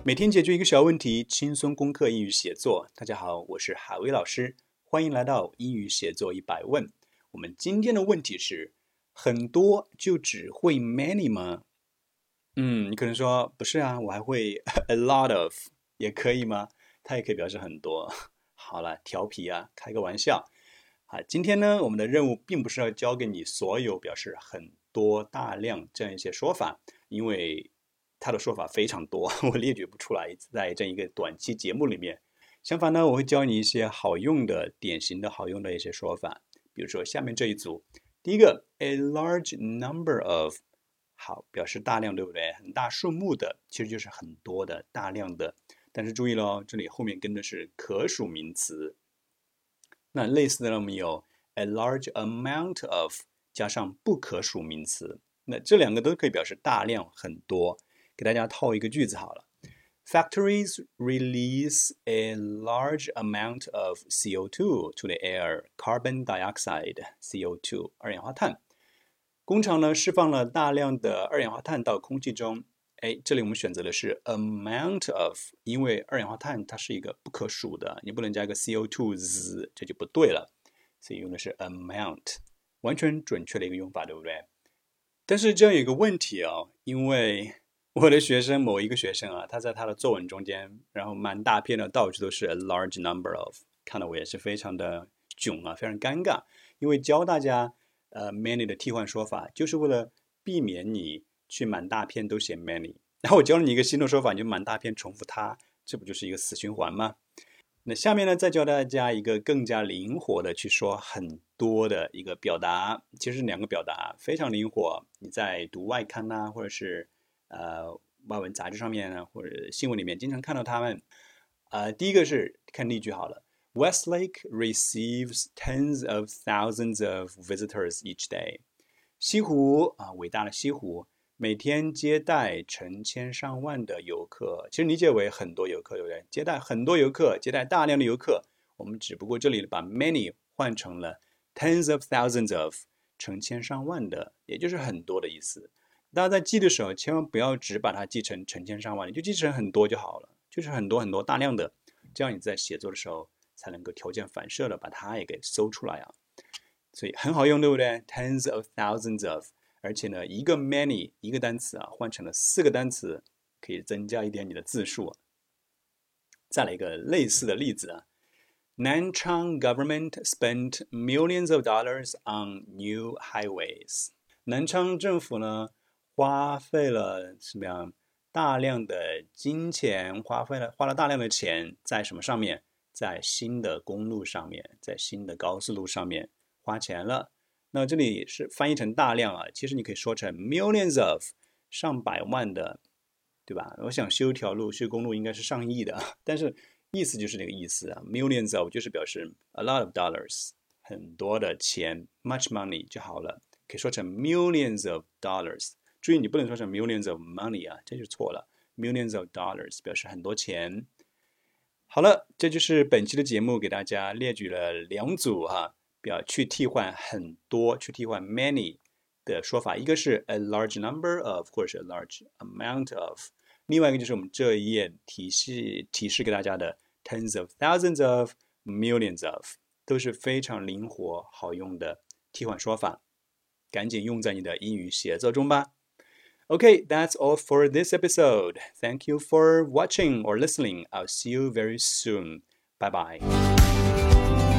每天解决一个小问题，轻松攻克英语写作。大家好，我是海威老师，欢迎来到英语写作100问。我们今天的问题是：很多就只会 many 吗？你可能说不是啊，我还会 a lot of 也可以吗？它也可以表示很多。好了，调皮啊，开个玩笑。今天呢，我们的任务并不是要教给你所有表示很多、大量这样一些说法，因为它的说法非常多，我列举不出来，在这一个短期节目里面。相反呢，我会教你一些好用的、典型的好用的一些说法，比如说下面这一组，第一个 a large number of， 好，表示大量，对不对？很大数目的，其实就是很多的、大量的。但是注意咯，这里后面跟的是可数名词。那类似的呢，我们有 a large amount of 加上不可数名词，那这两个都可以表示大量、很多。给大家套一个句子好了。Factories release a large amount of CO2 to the air, carbon dioxide, CO2, 二氧化碳。工厂呢释放了大量的二氧化碳到空气中。这里我们选择的是 amount of， 因为二氧化碳它是一个不可数的，你不能加一个 CO2 这就不对了，所以用的是 amount， 完全准确的一个用法，对不对？但是这样有一个问题哦，因为我的学生某一个学生啊，他在他的作文中间，然后满大篇的到处都是 a large number of， 看得我也是非常的囧啊，非常尴尬，因为教大家many 的替换说法，就是为了避免你去满大篇都写 many， 然后我教了你一个新的说法，你就满大篇重复它，这不就是一个死循环吗？那下面呢，再教大家一个更加灵活的去说很多的一个表达，其实两个表达非常灵活。你在读外刊呐，或者是外文杂志上面呢，或者新闻里面经常看到他们。第一个是看例句好了。Westlake receives tens of thousands of visitors each day。西湖啊，伟大的西湖，每天接待成千上万的游客，其实理解为很多游客，对不对？接待很多游客，接待大量的游客。我们只不过这里把 many 换成了 tens of thousands of， 成千上万的，也就是很多的意思。大家在记的时候，千万不要只把它记成成千上万，你就记成很多就好了，就是很多很多大量的，这样你在写作的时候才能够条件反射的把它也给搜出来啊。所以很好用，对不对？ tens of thousands of， 而且呢，一个 many 一个单词啊，换成了4个单词，可以增加一点你的字数啊。再来一个类似的例子啊。Nanchang government spent millions of dollars on new highways。南昌政府呢，花费了什么样大量的金钱，花了大量的钱在什么上面？在新的公路上面，在新的高速路上面花钱了。那这里是翻译成大量啊，其实你可以说成 millions of， 上百万的，对吧？我想修条路、修公路应该是上亿的，但是意思就是这个意思啊。millions of 就是表示 a lot of dollars， 很多的钱 ，much money 就好了。可以说成 millions of dollars， 注意你不能说成 millions of money 啊，这就错了。millions of dollars 表示很多钱。好了，这就是本期的节目，给大家列举了2组去替换很多，去替换 many 的说法，一个是 a large number of， 或者是 a large amount of， 另外一个就是我们这一页提示给大家的 tens of thousands of millions of， 都是非常灵活好用的替换说法。赶紧用在你的英语写作中吧。Okay, that's all for this episode. Thank you for watching or listening. I'll see you very soon. Bye bye.